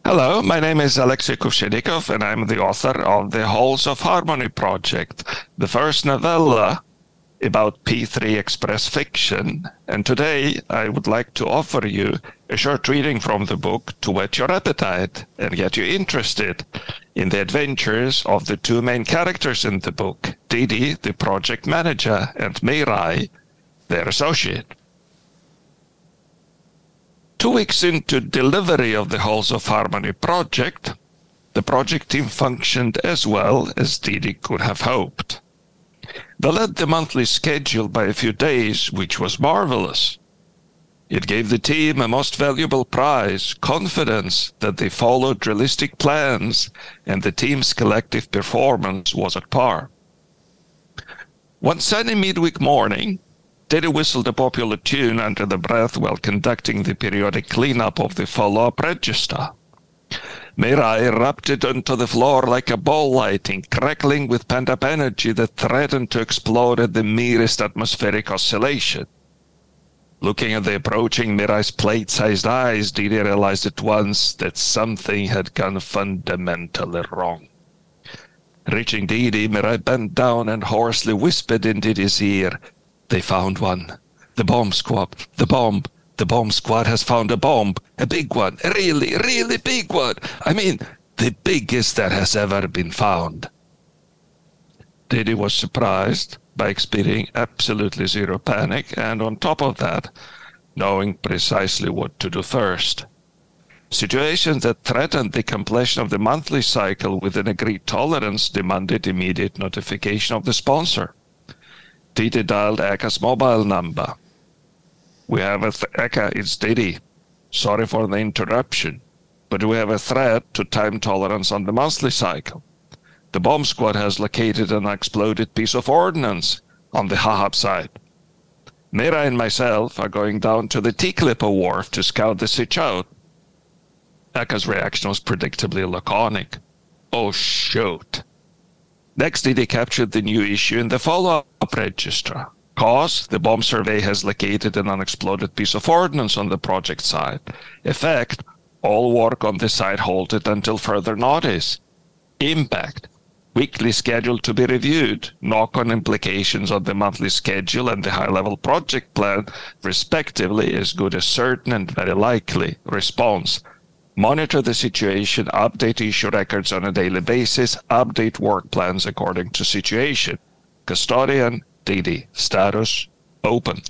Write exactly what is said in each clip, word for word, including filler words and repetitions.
Hello, my name is Alexei Kuvshenikov, and I'm the author of the Halls of Harmony project, the first novella about P three Express fiction. And today I would like to offer you a short reading from the book to whet your appetite and get you interested in the adventures of the two main characters in the book, Didi, the project manager, and Mirai, their associate. Two weeks into delivery of the Halls of Harmony project, the project team functioned as well as Didi could have hoped. They led the monthly schedule by a few days, which was marvelous. It gave the team a most valuable prize, confidence that they followed realistic plans and the team's collective performance was at par. One sunny midweek morning, Didi whistled a popular tune under the breath while conducting the periodic cleanup of the follow-up register. Mirai erupted onto the floor like a ball lightning, crackling with pent-up energy that threatened to explode at the merest atmospheric oscillation. Looking at the approaching Mirai's plate-sized eyes, Didi realized at once that something had gone fundamentally wrong. Reaching Didi, Mirai bent down and hoarsely whispered in Didi's ear, "They found one. The bomb squad. The bomb. The bomb squad has found a bomb. A big one. A really, really big one. I mean, the biggest that has ever been found." Didi was surprised by experiencing absolutely zero panic and, on top of that, knowing precisely what to do first. Situations that threatened the completion of the monthly cycle with an agreed tolerance demanded immediate notification of the sponsor. Didi dialed Eka's mobile number. "We have a th- Eka, it's Didi. Sorry for the interruption, but we have a threat to time tolerance on the monthly cycle. The bomb squad has located an exploded piece of ordnance on the Hahab side. Mirai and myself are going down to the T-Clipper wharf to scout the sitch out." Eka's reaction was predictably laconic. "Oh, shoot." Next, Didi captured the new issue in the follow-up register. Cause, the bomb survey has located an unexploded piece of ordnance on the project site. Effect, all work on the site halted until further notice. Impact, weekly schedule to be reviewed. Knock-on implications on the monthly schedule and the high-level project plan, respectively, as good as certain and very likely. Response, monitor the situation, update issue records on a daily basis, update work plans according to situation. Custodian, Didi. Status, open.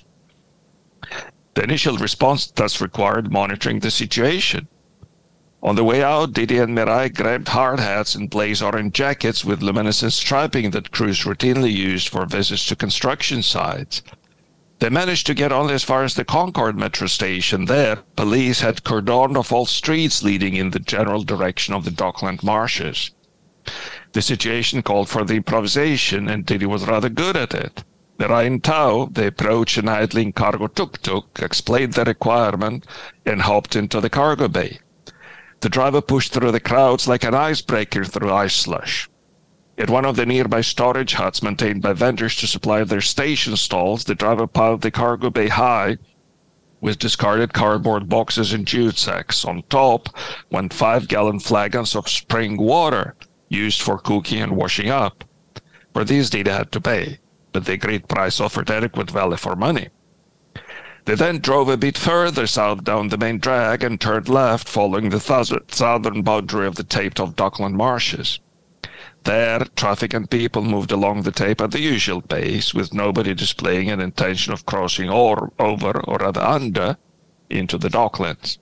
The initial response thus required monitoring the situation. On the way out, Didi and Mirai grabbed hard hats and blaze orange jackets with luminescent striping that crews routinely used for visits to construction sites. They managed to get only as far as the Concord metro station. There, police had cordoned off all streets leading in the general direction of the Dockland marshes. The situation called for the improvisation, and Didi was rather good at it. Mirai in tow, they approached an idling cargo tuk-tuk, explained the requirement, and hopped into the cargo bay. The driver pushed through the crowds like an icebreaker through ice slush. At one of the nearby storage huts maintained by vendors to supply their station stalls, the driver piled the cargo bay high with discarded cardboard boxes and jute sacks. On top went five-gallon flagons of spring water used for cooking and washing up. For these Didi had to pay, but the agreed price offered adequate value for money. They then drove a bit further south down the main drag and turned left, following the southern boundary of the taped-off Dockland marshes. There, traffic and people moved along the tape at the usual pace, with nobody displaying an intention of crossing or over, or rather under, into the docklands.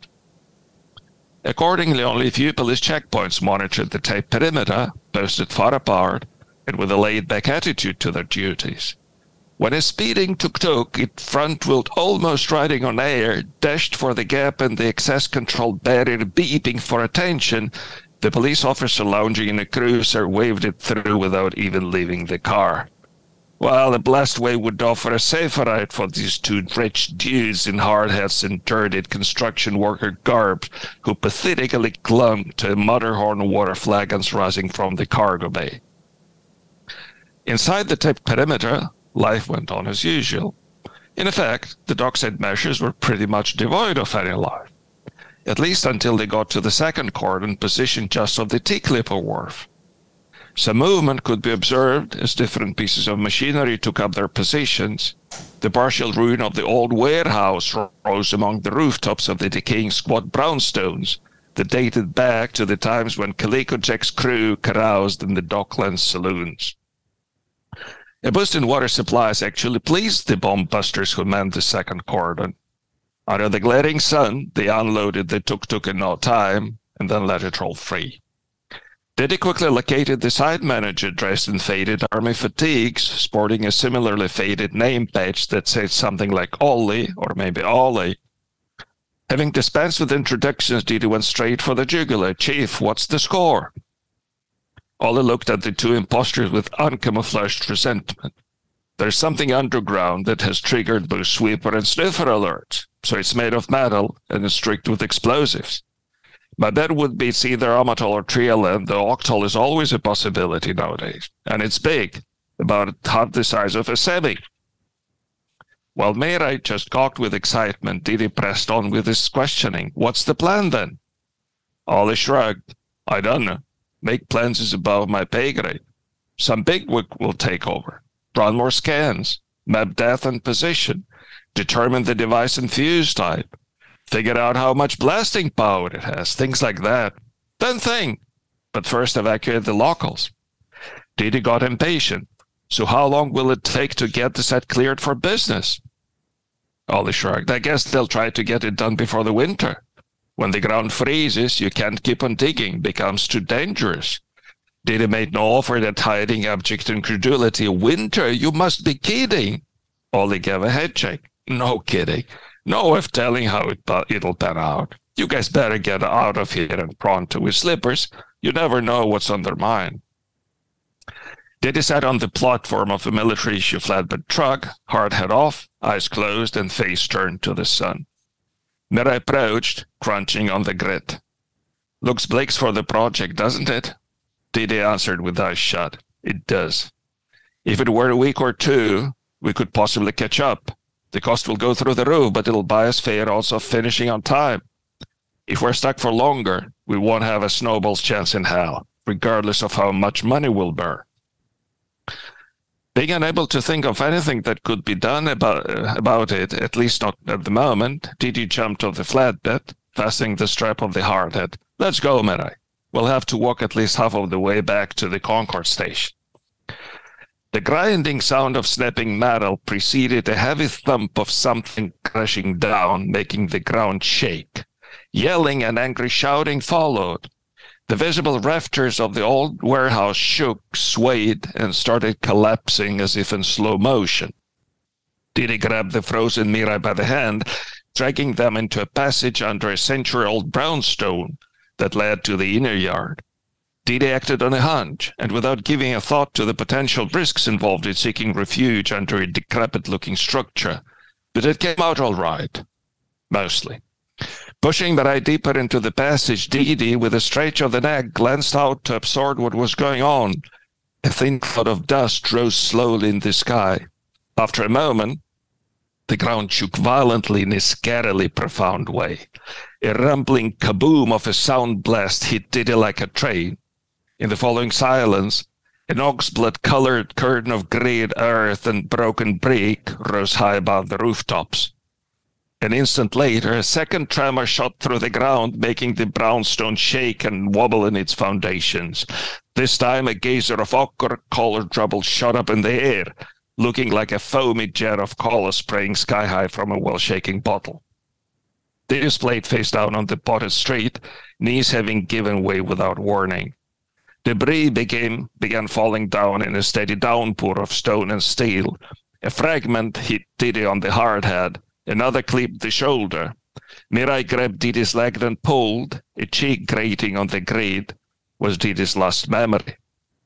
Accordingly, only a few police checkpoints monitored the tape perimeter, posted far apart, and with a laid-back attitude to their duties. When a speeding tuk-tuk, it front-wheeled almost riding on air, dashed for the gap and the access control barrier beeping for attention, the police officer lounging in a cruiser waved it through without even leaving the car. Well, the blessed way would offer a safer ride for these two rich dudes in hard hats and dirty construction worker garb who pathetically clung to Matterhorn water flagons rising from the cargo bay. Inside the taped perimeter, life went on as usual. In effect, the dockside measures were pretty much devoid of any life. at least until they got to the second cordon positioned just off the T-Clipper wharf. Some movement could be observed as different pieces of machinery took up their positions. The partial ruin of the old warehouse rose among the rooftops of the decaying squat brownstones that dated back to the times when Calico Jack's crew caroused in the Docklands saloons. A boost in water supplies actually pleased the bomb busters who manned the second cordon. Under the glaring sun, they unloaded the tuk-tuk in no time and then let it roll free. Diddy quickly located the site manager dressed in faded army fatigues, sporting a similarly faded name badge that said something like Ollie, or maybe Ollie. Having dispensed with introductions, Diddy went straight for the jugular. "Chief, what's the score?" Ollie looked at the two imposters with uncamouflaged resentment. "There's something underground that has triggered both sweeper and sniffer alerts, so it's made of metal and is streaked with explosives. My bet would be it's either Amatol or Trialan, though Octol is always a possibility nowadays. And it's big, about half the size of a semi." While Mirai just gawked with excitement, Diddy pressed on with his questioning. "What's the plan then?" Ollie shrugged. "I don't know. Make plans is above my pay grade. Some bigwig will take over. Run more scans. Map depth and position. Determine the device and fuse type. Figure out how much blasting power it has, things like that. Then think. But first evacuate the locals." Diddy got impatient. "So how long will it take to get the set cleared for business?" Ollie shrugged. "I guess they'll try to get it done before the winter. When the ground freezes, you can't keep on digging, becomes too dangerous." Diddy made no offer that hiding abject incredulity. "Winter? You must be kidding." Ollie gave a head shake. "No kidding. No way of telling how it, it'll pan out. You guys better get out of here and pronto with slippers. You never know what's on their mind." Diddy sat on the platform of a military-issue flatbed truck, hard head off, eyes closed, and face turned to the sun. Mirai approached, crunching on the grit. "Looks bleak for the project, doesn't it?" Diddy answered with eyes shut. "It does. If it were a week or two, we could possibly catch up. The cost will go through the roof, but it'll buy us fair odds of finishing on time. If we're stuck for longer, we won't have a snowball's chance in hell, regardless of how much money we'll burn." Being unable to think of anything that could be done about, uh, about it, at least not at the moment, Diddy jumped off the flatbed, fastening the strap of the hardhead. "Let's go, Mirai. We'll have to walk at least half of the way back to the Concord station." The grinding sound of snapping metal preceded a heavy thump of something crashing down, making the ground shake. Yelling and angry shouting followed. The visible rafters of the old warehouse shook, swayed, and started collapsing as if in slow motion. Diddy grabbed the frozen Mirai by the hand, dragging them into a passage under a century-old brownstone that led to the inner yard. Diddy acted on a hunch, and without giving a thought to the potential risks involved in seeking refuge under a decrepit-looking structure, but it came out all right. Mostly. Pushing Mirai deeper into the passage, Diddy, with a stretch of the neck, glanced out to absorb what was going on. A thin cloud of dust rose slowly in the sky. After a moment, the ground shook violently in a scarily profound way. A rumbling kaboom of a sound blast hit Diddy like a train. In the following silence, an oxblood-colored curtain of grayed earth and broken brick rose high above the rooftops. An instant later, a second tremor shot through the ground, making the brownstone shake and wobble in its foundations. This time, a geyser of ochre-colored rubble shot up in the air, looking like a foamy jet of cola spraying sky-high from a well-shaking bottle. Diddy's plate face down on the potted street, knees having given way without warning. Debris began, began falling down in a steady downpour of stone and steel. A fragment hit Diddy on the hard head. Another clipped the shoulder. Mirai grabbed Diddy's leg and pulled. A cheek grating on the grid was Diddy's last memory.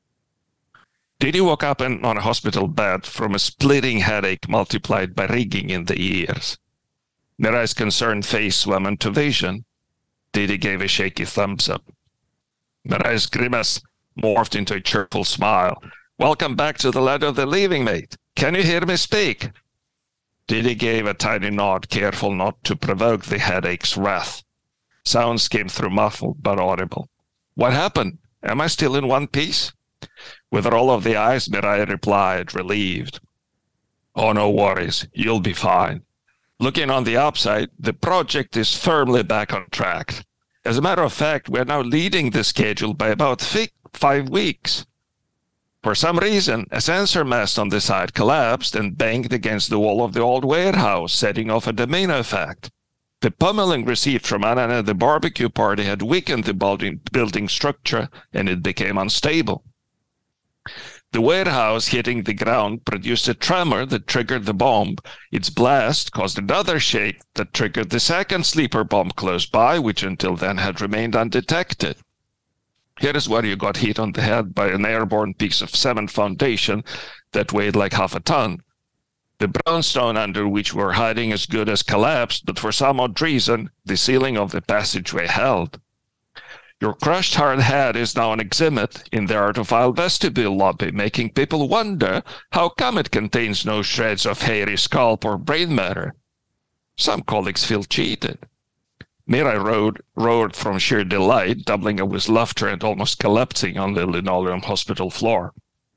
Diddy woke up in, on a hospital bed from a splitting headache multiplied by ringing in the ears. Mirai's concerned face swam into vision. Diddy gave a shaky thumbs up. Mirai's grimace morphed into a cheerful smile. "Welcome back to the land of the living, mate. Can you hear me speak?" Diddy gave a tiny nod, careful not to provoke the headache's wrath. Sounds came through muffled but audible. What happened? Am I still in one piece? With a roll of the eyes, Mirai replied, relieved. Oh, no worries. You'll be fine. Looking on the upside, the project is firmly back on track. As a matter of fact, we're now leading the schedule by about five weeks. For some reason, a sensor mast on the side collapsed and banged against the wall of the old warehouse, setting off a domino effect. The pummeling received from Anna and the barbecue party had weakened the building, building structure, and it became unstable. The warehouse hitting the ground produced a tremor that triggered the bomb. Its blast caused another shake that triggered the second sleeper bomb close by, which until then had remained undetected. Here is where you got hit on the head by an airborne piece of cement foundation that weighed like half a ton. The brownstone under which we were hiding as good as collapsed, but for some odd reason, the ceiling of the passageway held. Your crushed hard head is now an exhibit in the Artophile vestibule lobby, making people wonder how come it contains no shreds of hairy scalp or brain matter. Some colleagues feel cheated. Mirai roared, roared from sheer delight, doubling up with laughter and almost collapsing on the linoleum hospital floor.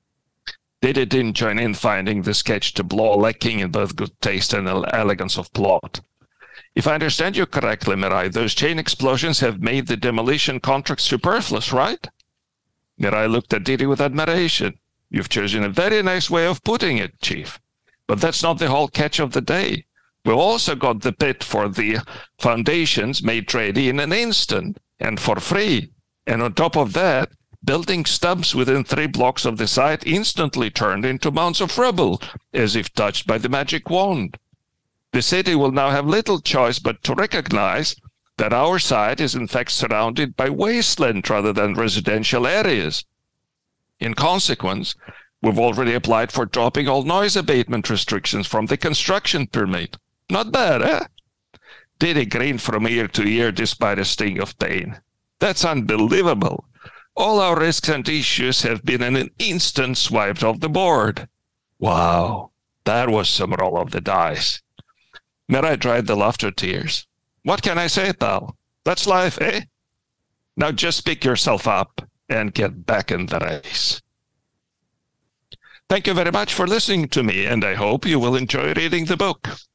Didi didn't join in, finding the sketch tableau lacking in both good taste and elegance of plot. If I understand you correctly, Mirai, those chain explosions have made the demolition contract superfluous, right? Mirai looked at Didi with admiration. You've chosen a very nice way of putting it, Chief. But that's not the whole catch of the day. We've also got the pit for the foundations made ready in an instant and for free. And on top of that, building stubs within three blocks of the site instantly turned into mounds of rubble, as if touched by the magic wand. The city will now have little choice but to recognize that our site is in fact surrounded by wasteland rather than residential areas. In consequence, we've already applied for dropping all noise abatement restrictions from the construction permit. Not bad, eh? Didi grinned from ear to ear despite a sting of pain. That's unbelievable. All our risks and issues have been in an instant swiped off the board. Wow, that was some roll of the dice. Mirai dried the laughter tears. What can I say, pal? That's life, eh? Now just pick yourself up and get back in the race. Thank you very much for listening to me, and I hope you will enjoy reading the book.